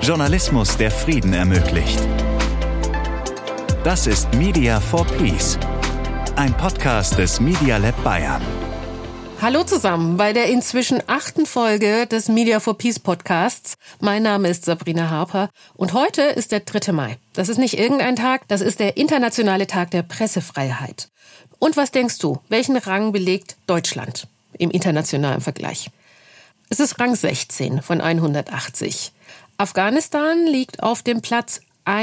Journalismus, der Frieden ermöglicht. Das ist Media for Peace, ein Podcast des Media Lab Bayern. Hallo zusammen bei der inzwischen 8. Folge des Media for Peace Podcasts. Mein Name ist Sabrina Harper und heute ist der 3. Mai. Das ist nicht irgendein Tag, das ist der internationale Tag der Pressefreiheit. Und was denkst du, welchen Rang belegt Deutschland im internationalen Vergleich? Es ist Rang 16 von 180. Afghanistan liegt auf dem Platz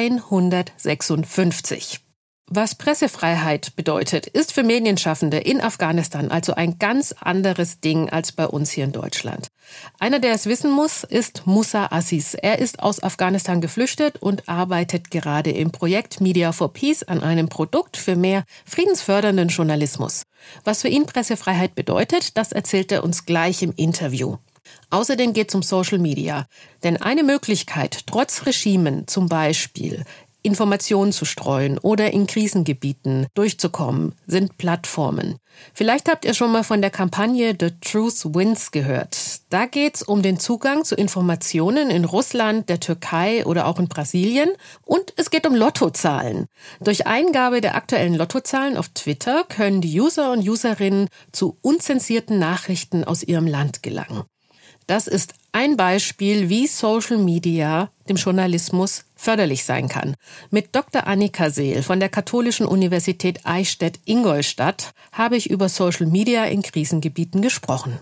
156. Was Pressefreiheit bedeutet, ist für Medienschaffende in Afghanistan also ein ganz anderes Ding als bei uns hier in Deutschland. Einer, der es wissen muss, ist Musa Aziz. Er ist aus Afghanistan geflüchtet und arbeitet gerade im Projekt Media for Peace an einem Produkt für mehr friedensfördernden Journalismus. Was für ihn Pressefreiheit bedeutet, das erzählt er uns gleich im Interview. Außerdem geht es um Social Media. Denn eine Möglichkeit, trotz Regimen zum Beispiel Informationen zu streuen oder in Krisengebieten durchzukommen, sind Plattformen. Vielleicht habt ihr schon mal von der Kampagne The Truth Wins gehört. Da geht's um den Zugang zu Informationen in Russland, der Türkei oder auch in Brasilien. Und es geht um Lottozahlen. Durch Eingabe der aktuellen Lottozahlen auf Twitter können die User und Userinnen zu unzensierten Nachrichten aus ihrem Land gelangen. Das ist ein Beispiel, wie Social Media dem Journalismus förderlich sein kann. Mit Dr. Annika Seel von der Katholischen Universität Eichstätt-Ingolstadt habe ich über Social Media in Krisengebieten gesprochen.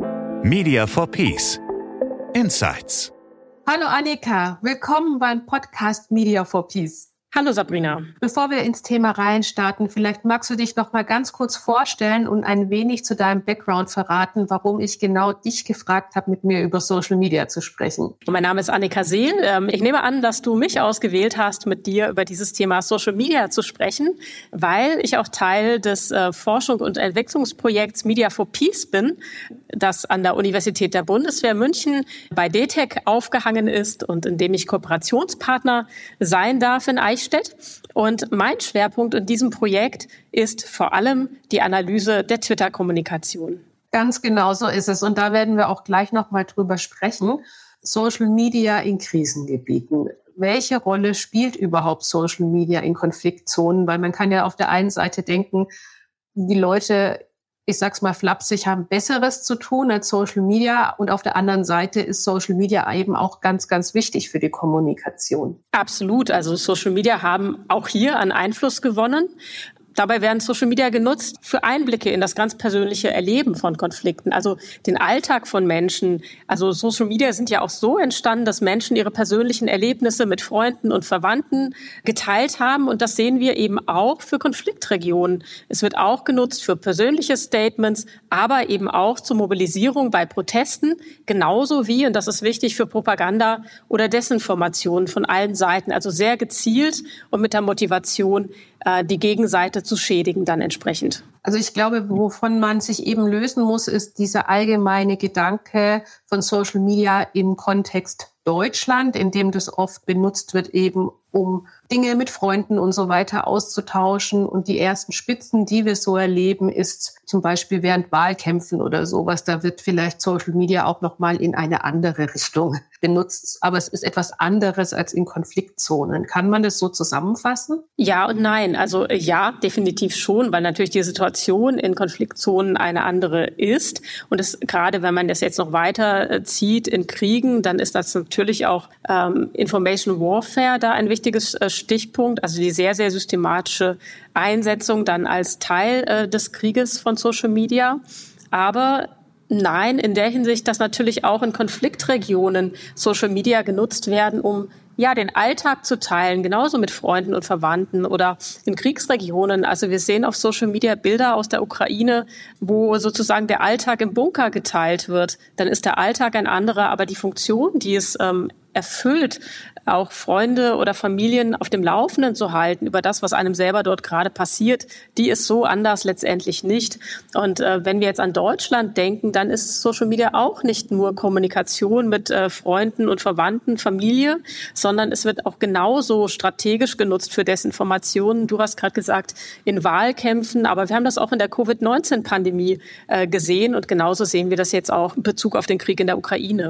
Media for Peace. Insights. Hallo Annika, willkommen beim Podcast Media for Peace. Hallo Sabrina. Bevor wir ins Thema reinstarten, vielleicht magst du dich noch mal ganz kurz vorstellen und ein wenig zu deinem Background verraten, warum ich genau dich gefragt habe, mit mir über Social Media zu sprechen. Mein Name ist Annika Seel. Ich nehme an, dass du mich ausgewählt hast, mit dir über dieses Thema Social Media zu sprechen, weil ich auch Teil des Forschung- und Entwicklungsprojekts Media for Peace bin, das an der Universität der Bundeswehr München bei DTEC aufgehangen ist und in dem ich Kooperationspartner sein darf in Eichstätt. Und mein Schwerpunkt in diesem Projekt ist vor allem die Analyse der Twitter-Kommunikation. Ganz genau so ist es. Und da werden wir auch gleich noch mal drüber sprechen. Social Media in Krisengebieten. Welche Rolle spielt überhaupt Social Media in Konfliktzonen? Weil man kann ja auf der einen Seite denken, die Leute, ich sag's mal flapsig, haben Besseres zu tun als Social Media. Und auf der anderen Seite ist Social Media eben auch ganz, ganz wichtig für die Kommunikation. Absolut. Also Social Media haben auch hier an Einfluss gewonnen. Dabei werden Social Media genutzt für Einblicke in das ganz persönliche Erleben von Konflikten, also den Alltag von Menschen. Also Social Media sind ja auch so entstanden, dass Menschen ihre persönlichen Erlebnisse mit Freunden und Verwandten geteilt haben. Und das sehen wir eben auch für Konfliktregionen. Es wird auch genutzt für persönliche Statements, aber eben auch zur Mobilisierung bei Protesten, genauso wie, und das ist wichtig, für Propaganda oder Desinformation von allen Seiten. Also sehr gezielt und mit der Motivation, die Gegenseite zu schädigen dann entsprechend. Also ich glaube, wovon man sich eben lösen muss, ist dieser allgemeine Gedanke von Social Media im Kontext Deutschland, in dem das oft benutzt wird, eben um Dinge mit Freunden und so weiter auszutauschen. Und die ersten Spitzen, die wir so erleben, ist zum Beispiel während Wahlkämpfen oder sowas. Da wird vielleicht Social Media auch nochmal in eine andere Richtung benutzt. Aber es ist etwas anderes als in Konfliktzonen. Kann man das so zusammenfassen? Ja und nein. Also ja, definitiv schon, weil natürlich die Situation in Konfliktzonen eine andere ist. Und es, gerade wenn man das jetzt noch weiter zieht in Kriegen, dann ist das natürlich auch Information Warfare da ein wichtiges Stichpunkt, also die sehr, sehr systematische Einsetzung dann als Teil des Krieges von Social Media. Aber nein, in der Hinsicht, dass natürlich auch in Konfliktregionen Social Media genutzt werden, um den Alltag zu teilen, genauso mit Freunden und Verwandten oder in Kriegsregionen. Also wir sehen auf Social Media Bilder aus der Ukraine, wo sozusagen der Alltag im Bunker geteilt wird. Dann ist der Alltag ein anderer, aber die Funktion, die es erfüllt, auch Freunde oder Familien auf dem Laufenden zu halten über das, was einem selber dort gerade passiert, die ist so anders letztendlich nicht. Und wenn wir jetzt an Deutschland denken, dann ist Social Media auch nicht nur Kommunikation mit Freunden und Verwandten, Familie, sondern es wird auch genauso strategisch genutzt für Desinformationen. Du hast gerade gesagt, in Wahlkämpfen, aber wir haben das auch in der Covid-19-Pandemie gesehen und genauso sehen wir das jetzt auch in Bezug auf den Krieg in der Ukraine.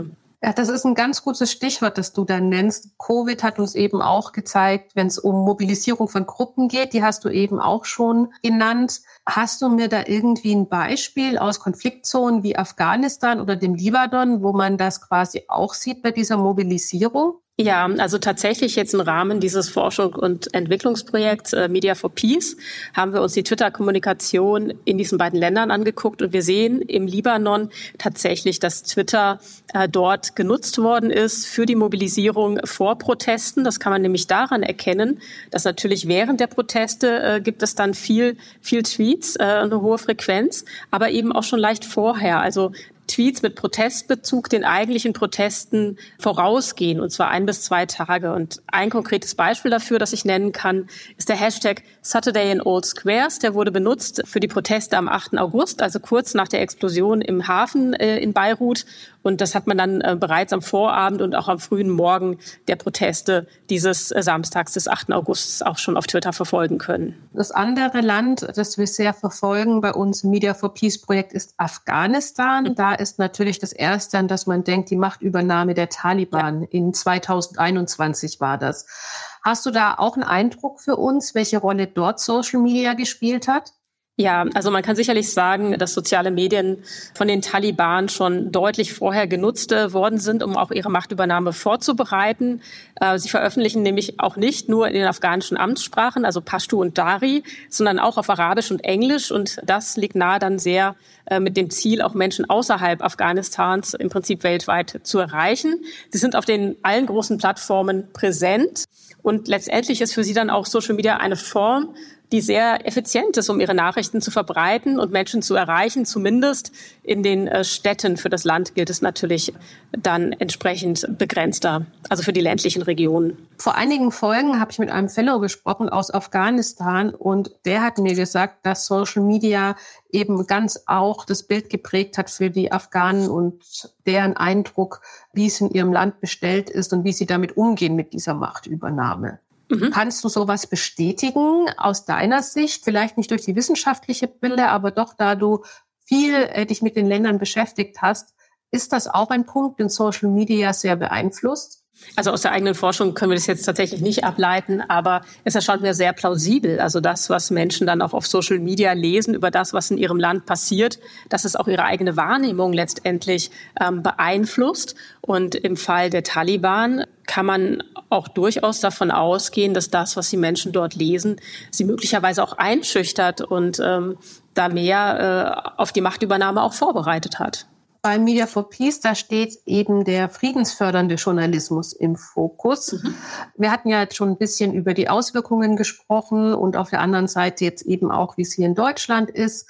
Ja, das ist ein ganz gutes Stichwort, das du da nennst. Covid hat uns eben auch gezeigt, wenn es um Mobilisierung von Gruppen geht, die hast du eben auch schon genannt. Hast du mir da irgendwie ein Beispiel aus Konfliktzonen wie Afghanistan oder dem Libanon, wo man das quasi auch sieht bei dieser Mobilisierung? Ja, also tatsächlich jetzt im Rahmen dieses Forschung- und Entwicklungsprojekts Media for Peace haben wir uns die Twitter-Kommunikation in diesen beiden Ländern angeguckt und wir sehen im Libanon tatsächlich, dass Twitter dort genutzt worden ist für die Mobilisierung vor Protesten. Das kann man nämlich daran erkennen, dass natürlich während der Proteste gibt es dann viel Tweets, eine hohe Frequenz, aber eben auch schon leicht vorher. Also Tweets mit Protestbezug den eigentlichen Protesten vorausgehen, und zwar 1 bis 2 Tage. Und ein konkretes Beispiel dafür, das ich nennen kann, ist der Hashtag Saturday in Old Squares. Der wurde benutzt für die Proteste am 8. August, also kurz nach der Explosion im Hafen in Beirut. Und das hat man dann bereits am Vorabend und auch am frühen Morgen der Proteste dieses Samstags des 8. August auch schon auf Twitter verfolgen können. Das andere Land, das wir sehr verfolgen bei uns im Media for Peace Projekt, ist Afghanistan. Da ist natürlich das Erste, an das man denkt, die Machtübernahme der Taliban. Ja. In 2021 war das. Hast du da auch einen Eindruck für uns, welche Rolle dort Social Media gespielt hat? Ja, also man kann sicherlich sagen, dass soziale Medien von den Taliban schon deutlich vorher genutzt worden sind, um auch ihre Machtübernahme vorzubereiten. Sie veröffentlichen nämlich auch nicht nur in den afghanischen Amtssprachen, also Pashto und Dari, sondern auch auf Arabisch und Englisch. Und das liegt nahe dann sehr mit dem Ziel, auch Menschen außerhalb Afghanistans im Prinzip weltweit zu erreichen. Sie sind auf allen großen Plattformen präsent. Und letztendlich ist für sie dann auch Social Media eine Form, die sehr effizient ist, um ihre Nachrichten zu verbreiten und Menschen zu erreichen. Zumindest in den Städten. Für das Land gilt es natürlich dann entsprechend begrenzter, also für die ländlichen Regionen. Vor einigen Folgen habe ich mit einem Fellow gesprochen aus Afghanistan und der hat mir gesagt, dass Social Media eben ganz auch das Bild geprägt hat für die Afghanen und deren Eindruck, wie es in ihrem Land bestellt ist und wie sie damit umgehen mit dieser Machtübernahme. Kannst du sowas bestätigen aus deiner Sicht? Vielleicht nicht durch die wissenschaftliche Brille, aber doch, da du viel dich mit den Ländern beschäftigt hast, ist das auch ein Punkt, den Social Media sehr beeinflusst? Also aus der eigenen Forschung können wir das jetzt tatsächlich nicht ableiten, aber es erscheint mir sehr plausibel. Also das, was Menschen dann auch auf Social Media lesen über das, was in ihrem Land passiert, dass es auch ihre eigene Wahrnehmung letztendlich beeinflusst. Und im Fall der Taliban kann man auch durchaus davon ausgehen, dass das, was die Menschen dort lesen, sie möglicherweise auch einschüchtert und da mehr auf die Machtübernahme auch vorbereitet hat. Bei Media for Peace, da steht eben der friedensfördernde Journalismus im Fokus. Wir hatten ja jetzt schon ein bisschen über die Auswirkungen gesprochen und auf der anderen Seite jetzt eben auch, wie es hier in Deutschland ist.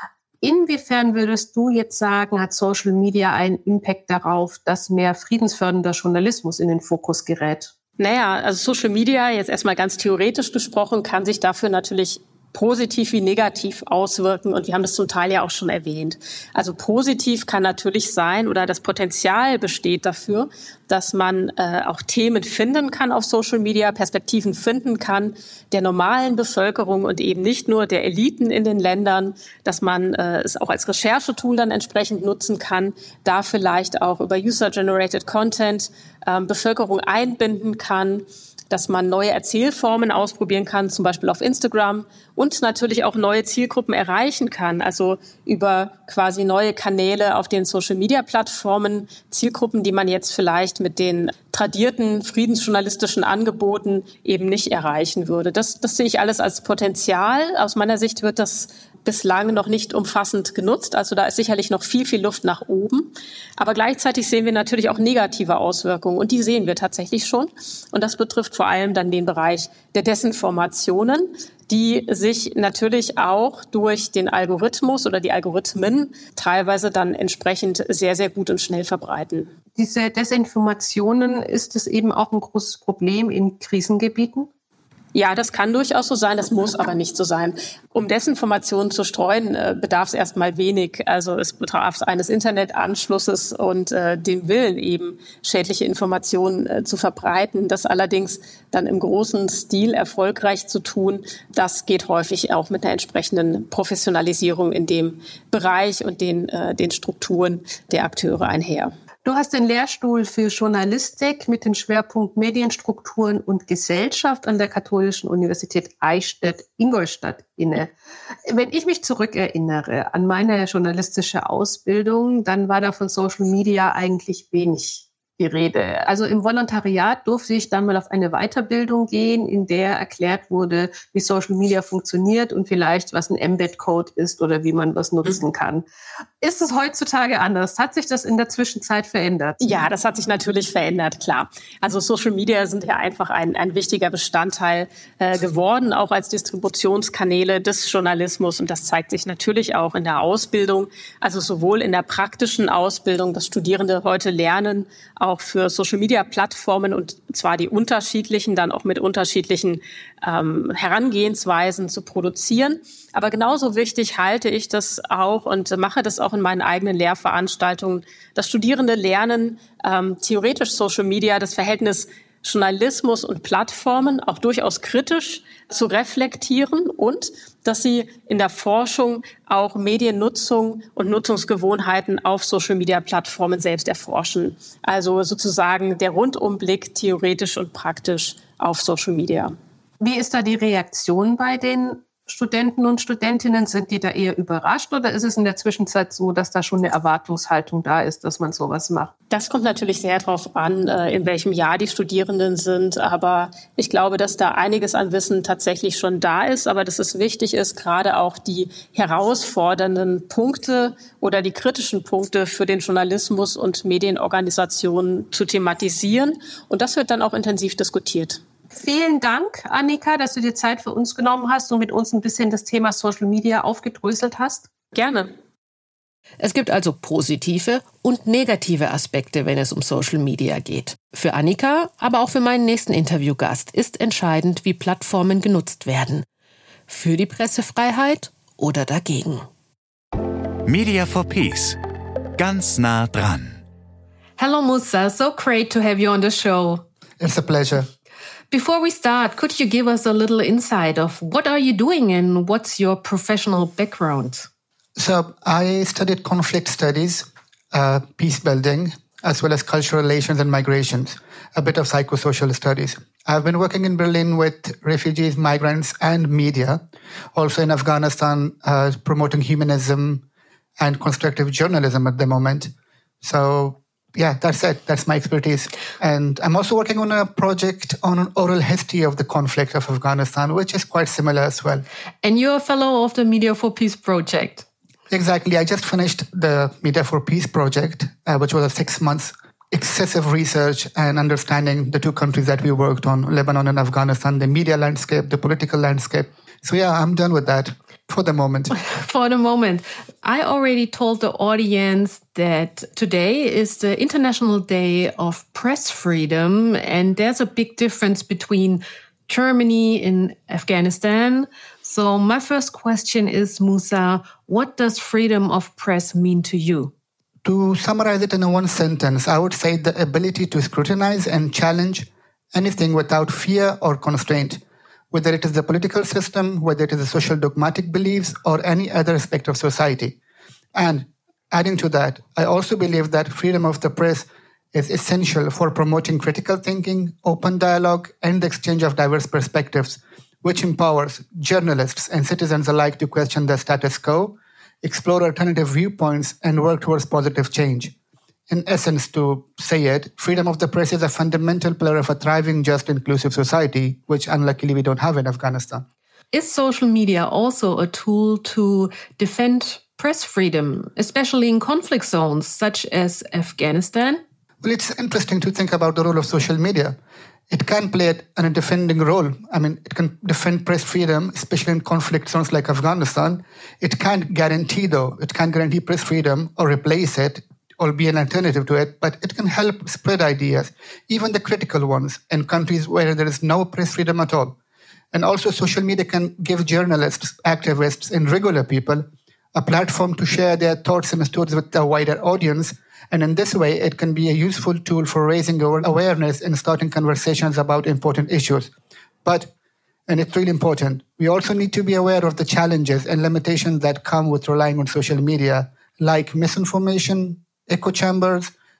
Inwiefern würdest du jetzt sagen, hat Social Media einen Impact darauf, dass mehr friedensfördernder Journalismus in den Fokus gerät? Naja, also Social Media, jetzt erstmal ganz theoretisch gesprochen, kann sich dafür natürlich positiv wie negativ auswirken und wir haben das zum Teil ja auch schon erwähnt. Also positiv kann natürlich sein oder das Potenzial besteht dafür, dass man auch Themen finden kann auf Social Media, Perspektiven finden kann der normalen Bevölkerung und eben nicht nur der Eliten in den Ländern, dass man es auch als Recherchetool dann entsprechend nutzen kann, da vielleicht auch über User-Generated Content Bevölkerung einbinden kann, dass man neue Erzählformen ausprobieren kann, zum Beispiel auf Instagram und natürlich auch neue Zielgruppen erreichen kann, also über quasi neue Kanäle auf den Social-Media-Plattformen, Zielgruppen, die man jetzt vielleicht mit den tradierten friedensjournalistischen Angeboten eben nicht erreichen würde. Das sehe ich alles als Potenzial. Aus meiner Sicht wird das bislang noch nicht umfassend genutzt. Also da ist sicherlich noch viel Luft nach oben. Aber gleichzeitig sehen wir natürlich auch negative Auswirkungen. Und die sehen wir tatsächlich schon. Und das betrifft vor allem dann den Bereich der Desinformationen, die sich natürlich auch durch den Algorithmus oder die Algorithmen teilweise dann entsprechend sehr, sehr gut und schnell verbreiten. Diese Desinformationen, ist es eben auch ein großes Problem in Krisengebieten? Ja, das kann durchaus so sein, das muss aber nicht so sein. Um Desinformationen zu streuen, bedarf es erstmal wenig. Also es bedarf eines Internetanschlusses und den Willen eben, schädliche Informationen zu verbreiten. Das allerdings dann im großen Stil erfolgreich zu tun, das geht häufig auch mit einer entsprechenden Professionalisierung in dem Bereich und den Strukturen der Akteure einher. Du hast den Lehrstuhl für Journalistik mit dem Schwerpunkt Medienstrukturen und Gesellschaft an der Katholischen Universität Eichstätt-Ingolstadt inne. Wenn ich mich zurückerinnere an meine journalistische Ausbildung, dann war da von Social Media eigentlich wenig die Rede. Also im Volontariat durfte ich dann mal auf eine Weiterbildung gehen, in der erklärt wurde, wie Social Media funktioniert und vielleicht, was ein Embed-Code ist oder wie man was nutzen kann. Ist es heutzutage anders? Hat sich das in der Zwischenzeit verändert? Ja, das hat sich natürlich verändert, klar. Also Social Media sind ja einfach ein wichtiger Bestandteil geworden, auch als Distributionskanäle des Journalismus. Und das zeigt sich natürlich auch in der Ausbildung, also sowohl in der praktischen Ausbildung, dass Studierende heute lernen, auch für Social-Media-Plattformen und zwar die unterschiedlichen, dann auch mit unterschiedlichen Herangehensweisen zu produzieren. Aber genauso wichtig halte ich das auch und mache das auch in meinen eigenen Lehrveranstaltungen, dass Studierende lernen, theoretisch Social Media, das Verhältnis Journalismus und Plattformen auch durchaus kritisch zu reflektieren und dass sie in der Forschung auch Mediennutzung und Nutzungsgewohnheiten auf Social-Media-Plattformen selbst erforschen. Also sozusagen der Rundumblick theoretisch und praktisch auf Social Media. Wie ist da die Reaktion bei den Studenten und Studentinnen? Sind die da eher überrascht oder ist es in der Zwischenzeit so, dass da schon eine Erwartungshaltung da ist, dass man sowas macht? Das kommt natürlich sehr darauf an, in welchem Jahr die Studierenden sind. Aber ich glaube, dass da einiges an Wissen tatsächlich schon da ist. Aber dass es wichtig ist, gerade auch die herausfordernden Punkte oder die kritischen Punkte für den Journalismus und Medienorganisationen zu thematisieren. Und das wird dann auch intensiv diskutiert. Vielen Dank, Annika, dass du dir Zeit für uns genommen hast und mit uns ein bisschen das Thema Social Media aufgedröselt hast. Gerne. Es gibt also positive und negative Aspekte, wenn es um Social Media geht. Für Annika, aber auch für meinen nächsten Interviewgast ist entscheidend, wie Plattformen genutzt werden. Für die Pressefreiheit oder dagegen. Media for Peace. Ganz nah dran. Hello Musa, so great to have you on the show. It's a pleasure. Before we start, could you give us a little insight of what are you doing and what's your professional background? So I studied conflict studies, peace building, as well as cultural relations and migrations, a bit of psychosocial studies. I've been working in Berlin with refugees, migrants, and media, also in Afghanistan, promoting humanism and constructive journalism at the moment. So yeah, that's it. That's my expertise. And I'm also working on a project on an oral history of the conflict of Afghanistan, which is quite similar as well. And you're a fellow of the Media for Peace project. Exactly. I just finished the Media for Peace project, which was a 6 months excessive research and understanding the two countries that we worked on, Lebanon and Afghanistan, the media landscape, the political landscape. So yeah, I'm done with that. For the moment. For the moment. I already told the audience that today is the International Day of Press Freedom, and there's a big difference between Germany and Afghanistan. So my first question is, Musa, what does freedom of press mean to you? To summarize it in one sentence, I would say the ability to scrutinize and challenge anything without fear or constraint, whether it is the political system, whether it is the social dogmatic beliefs, or any other aspect of society. And adding to that, I also believe that freedom of the press is essential for promoting critical thinking, open dialogue, and the exchange of diverse perspectives, which empowers journalists and citizens alike to question the status quo, explore alternative viewpoints, and work towards positive change. In essence, to say it, freedom of the press is a fundamental pillar of a thriving, just, inclusive society, which unluckily we don't have in Afghanistan. Is social media also a tool to defend press freedom, especially in conflict zones such as Afghanistan? Well, it's interesting to think about the role of social media. It can play a defending role. I mean, it can defend press freedom, especially in conflict zones like Afghanistan. It can't guarantee, though, it can't guarantee press freedom or replace it, or be an alternative to it, but it can help spread ideas, even the critical ones, in countries where there is no press freedom at all. And also social media can give journalists, activists, and regular people a platform to share their thoughts and stories with a wider audience. And in this way, it can be a useful tool for raising awareness and starting conversations about important issues. But, and it's really important, we also need to be aware of the challenges and limitations that come with relying on social media, like misinformation, echo chambers,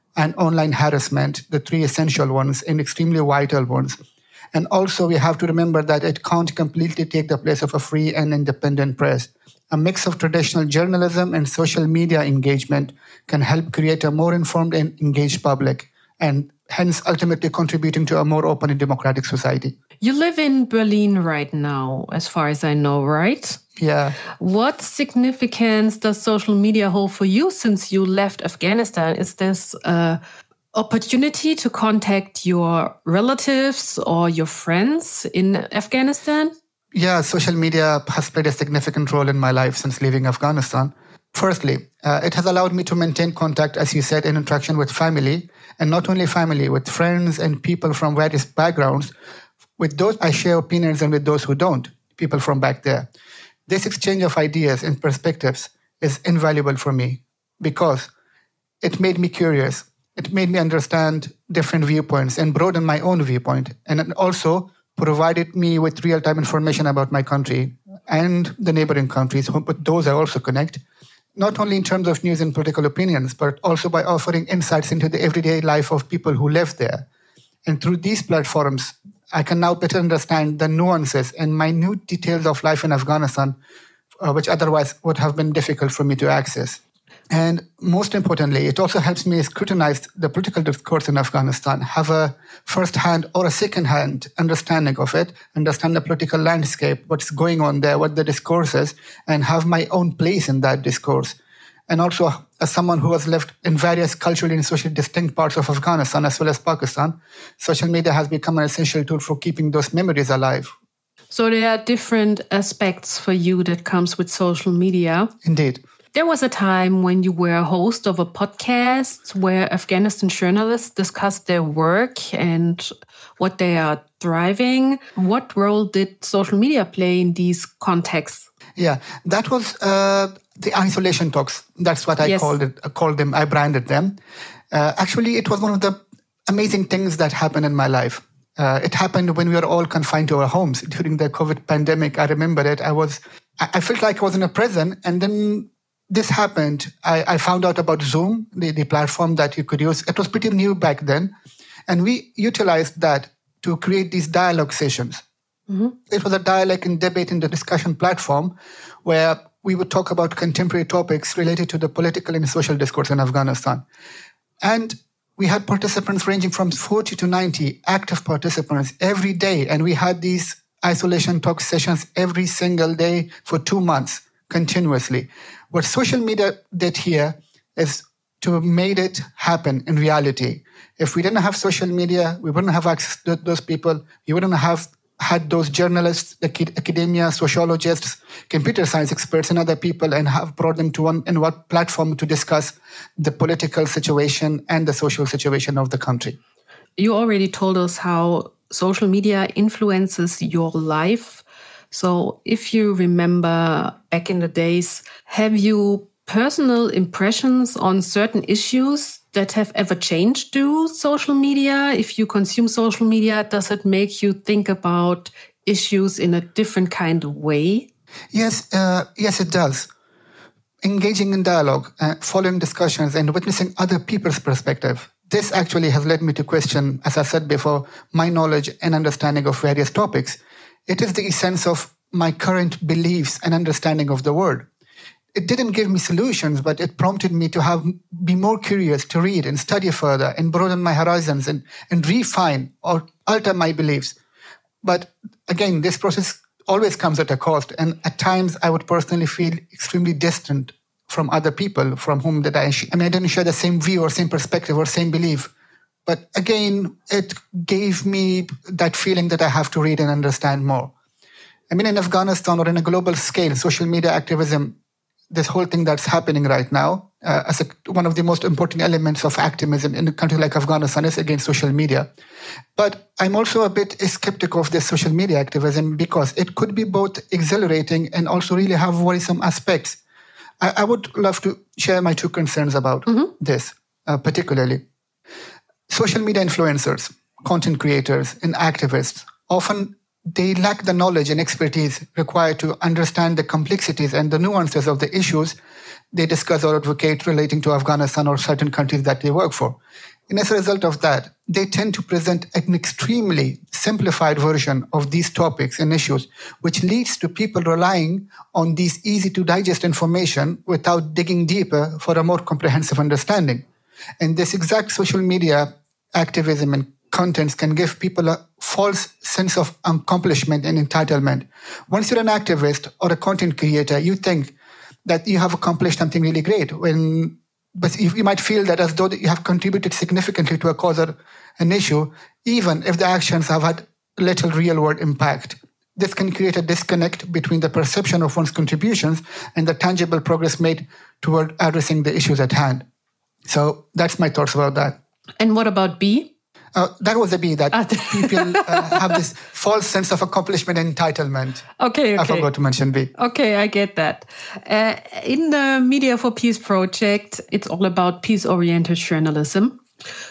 and online harassment, the three essential ones and extremely vital ones. And also we have to remember that it can't completely take the place of a free and independent press. A mix of traditional journalism and social media engagement can help create a more informed and engaged public, and hence ultimately contributing to a more open and democratic society. You live in Berlin right now, as far as I know, right? Yeah. What significance does social media hold for you since you left Afghanistan? Is this an opportunity to contact your relatives or your friends in Afghanistan? Yeah, social media has played a significant role in my life since leaving Afghanistan. Firstly, it has allowed me to maintain contact, as you said, and interaction with family, and not only family, with friends and people from various backgrounds. With those I share opinions and with those who don't, people from back there. This exchange of ideas and perspectives is invaluable for me because it made me curious. It made me understand different viewpoints and broaden my own viewpoint. And it also provided me with real-time information about my country and the neighboring countries, but those I also connect, not only in terms of news and political opinions, but also by offering insights into the everyday life of people who live there. And through these platforms, I can now better understand the nuances and minute details of life in Afghanistan, which otherwise would have been difficult for me to access. And most importantly, it also helps me scrutinize the political discourse in Afghanistan, have a first-hand or a second-hand understanding of it, understand the political landscape, what's going on there, what the discourse is, and have my own place in that discourse. And also, as someone who has lived in various culturally and socially distinct parts of Afghanistan as well as Pakistan, social media has become an essential tool for keeping those memories alive. So there are different aspects for you that comes with social media. Indeed. There was a time when you were a host of a podcast where Afghanistan journalists discussed their work and what they are driving. What role did social media play in these contexts? Yeah, that was the isolation talks. That's what I called them. I branded them. Actually, it was one of the amazing things that happened in my life. It happened when we were all confined to our homes during the COVID pandemic. I remember it. I felt like I was in a prison, and then this happened. I found out about Zoom, the platform that you could use. It was pretty new back then. And we utilized that to create these dialogue sessions. Mm-hmm. It was a dialogue and debate and the discussion platform where we would talk about contemporary topics related to the political and social discourse in Afghanistan. And we had participants ranging from 40 to 90 active participants every day. And we had these isolation talk sessions every single day for 2 months continuously. What social media did here is to made it happen in reality. If we didn't have social media, we wouldn't have access to those people. We wouldn't have had those journalists, academia, sociologists, computer science experts, and other people, and have brought them to one platform to discuss the political situation and the social situation of the country. You already told us how social media influences your life. So if you remember back in the days, have you personal impressions on certain issues that have ever changed through social media? If you consume social media, does it make you think about issues in a different kind of way? Yes, it does. Engaging in dialogue, following discussions and witnessing other people's perspective. This actually has led me to question, as I said before, my knowledge and understanding of various topics. It is the essence of my current beliefs and understanding of the world. It didn't give me solutions, but it prompted me to be more curious, to read and study further and broaden my horizons and refine or alter my beliefs. But again, this process always comes at a cost. And at times I would personally feel extremely distant from other people from whom I didn't share the same view or same perspective or same belief. But again, it gave me that feeling that I have to read and understand more. I mean, in Afghanistan or in a global scale, social media activism, this whole thing that's happening right now, as one of the most important elements of activism in a country like Afghanistan is against social media. But I'm also a bit skeptical of this social media activism because it could be both exhilarating and also really have worrisome aspects. I would love to share my two concerns about this, particularly. Social media influencers, content creators, and activists, often they lack the knowledge and expertise required to understand the complexities and the nuances of the issues they discuss or advocate relating to Afghanistan or certain countries that they work for. And as a result of that, they tend to present an extremely simplified version of these topics and issues, which leads to people relying on these easy-to-digest information without digging deeper for a more comprehensive understanding. And this exact social media activism and contents can give people a false sense of accomplishment and entitlement. Once you're an activist or a content creator, you think that you have accomplished something really great, but you might feel that as though you have contributed significantly to a cause or an issue, even if the actions have had little real-world impact. This can create a disconnect between the perception of one's contributions and the tangible progress made toward addressing the issues at hand. So that's my thoughts about that. And what about B? That was a B, that people have this false sense of accomplishment and entitlement. Okay. I forgot to mention B. Okay, I get that. In the Media for Peace project, it's all about peace-oriented journalism.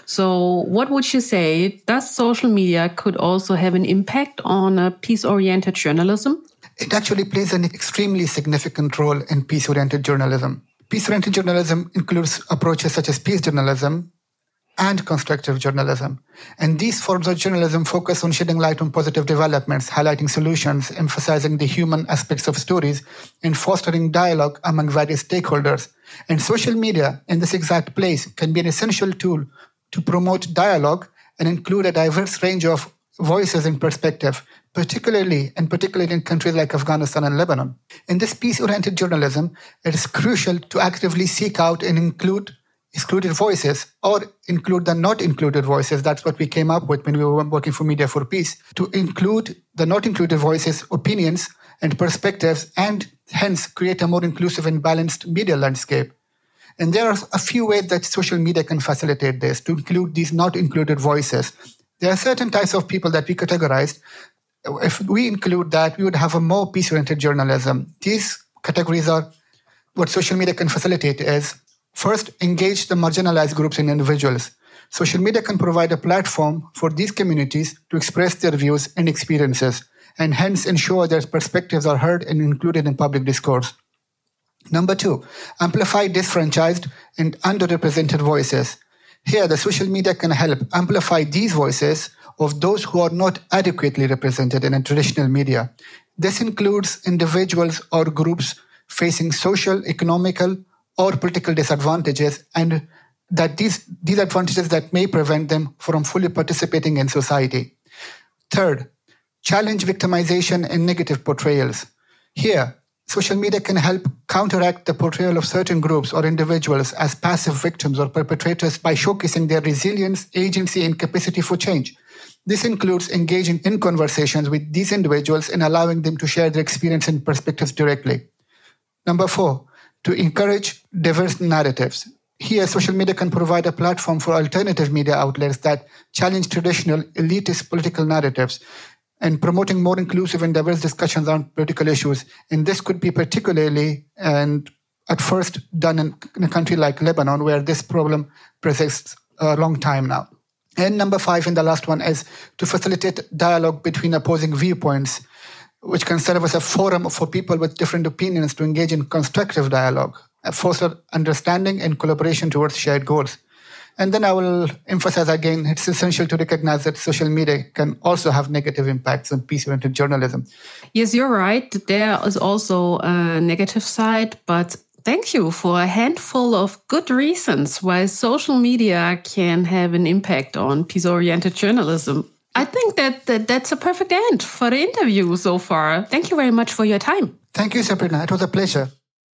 So what would you say? Does social media could also have an impact on peace-oriented journalism? It actually plays an extremely significant role in peace-oriented journalism. Peace-oriented journalism includes approaches such as peace journalism and constructive journalism. And these forms of journalism focus on shedding light on positive developments, highlighting solutions, emphasizing the human aspects of stories, and fostering dialogue among various stakeholders. And social media, in this exact place, can be an essential tool to promote dialogue and include a diverse range of voices and perspective, particularly in countries like Afghanistan and Lebanon. In this peace-oriented journalism, it is crucial to actively seek out and include excluded voices or include the not included voices. That's what we came up with when we were working for Media for Peace, to include the not included voices, opinions, and perspectives, and hence create a more inclusive and balanced media landscape. And there are a few ways that social media can facilitate this, to include these not included voices. There are certain types of people that we categorized. If we include that, we would have a more peace-oriented journalism. These categories are what social media can facilitate is, first, engage the marginalized groups and individuals. Social media can provide a platform for these communities to express their views and experiences, and hence ensure their perspectives are heard and included in public discourse. Number 2, amplify disfranchised and underrepresented voices. Here, the social media can help amplify these voices of those who are not adequately represented in a traditional media. This includes individuals or groups facing social, economical, or political disadvantages, and that these advantages that may prevent them from fully participating in society. Third, challenge victimization and negative portrayals. Here, social media can help counteract the portrayal of certain groups or individuals as passive victims or perpetrators by showcasing their resilience, agency, and capacity for change. This includes engaging in conversations with these individuals and allowing them to share their experience and perspectives directly. Number 4, to encourage diverse narratives. Here, social media can provide a platform for alternative media outlets that challenge traditional elitist political narratives and promoting more inclusive and diverse discussions on political issues. And this could be particularly, and at first, done in a country like Lebanon, where this problem persists a long time now. And number 5, and the last one, is to facilitate dialogue between opposing viewpoints, which can serve as a forum for people with different opinions to engage in constructive dialogue, foster understanding and collaboration towards shared goals. And then I will emphasize again, it's essential to recognize that social media can also have negative impacts on peace-oriented journalism. Yes, you're right. There is also a negative side, but thank you for a handful of good reasons why social media can have an impact on peace-oriented journalism. I think that's a perfect end for the interview so far. Thank you very much for your time. Thank you, Sabrina. It was a pleasure.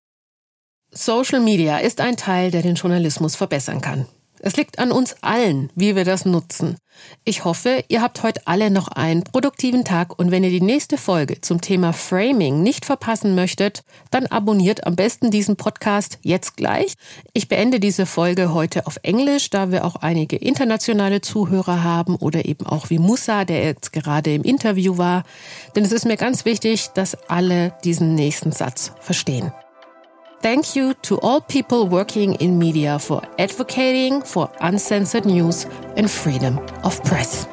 Social Media ist ein Teil, der den Journalismus verbessern kann. Es liegt an uns allen, wie wir das nutzen. Ich hoffe, ihr habt heute alle noch einen produktiven Tag und wenn ihr die nächste Folge zum Thema Framing nicht verpassen möchtet, dann abonniert am besten diesen Podcast jetzt gleich. Ich beende diese Folge heute auf Englisch, da wir auch einige internationale Zuhörer haben oder eben auch wie Musa, der jetzt gerade im Interview war. Denn es ist mir ganz wichtig, dass alle diesen nächsten Satz verstehen. Thank you to all people working in media for advocating for uncensored news and freedom of press.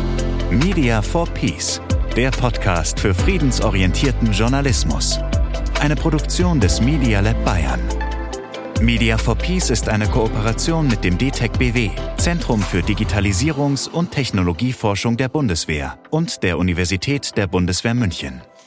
Media for Peace, der Podcast für friedensorientierten Journalismus. Eine Produktion des Media Lab Bayern. Media for Peace ist eine Kooperation mit dem DTEC BW, Zentrum für Digitalisierungs- und Technologieforschung der Bundeswehr und der Universität der Bundeswehr München.